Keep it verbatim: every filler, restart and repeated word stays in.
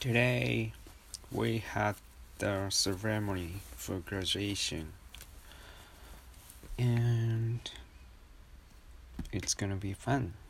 Today we had the ceremony for graduation, and it's gonna be fun.